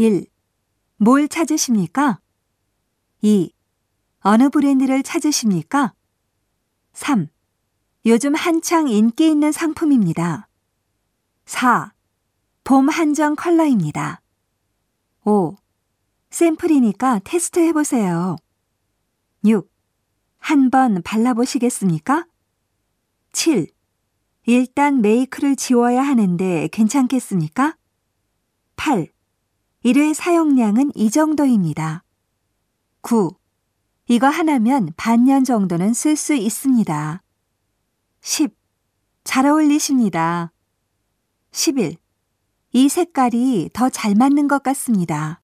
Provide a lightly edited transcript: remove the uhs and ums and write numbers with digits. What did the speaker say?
1. 뭘 찾으십니까? 2. 어느 브랜드를 찾으십니까? 3. 요즘 한창 인기 있는 상품입니다. 4. 봄 한정 컬러입니다. 5. 샘플이니까 테스트 해보세요. 6. 한번 발라보시겠습니까? 7. 일단 메이크를 지워야 하는데 괜찮겠습니까? 8. 1회 사용량은 이 정도입니다. 9. 이거 하나면 반년 정도는 쓸 수 있습니다. 10. 잘 어울리십니다. 11. 이 색깔이 더 잘 맞는 것 같습니다.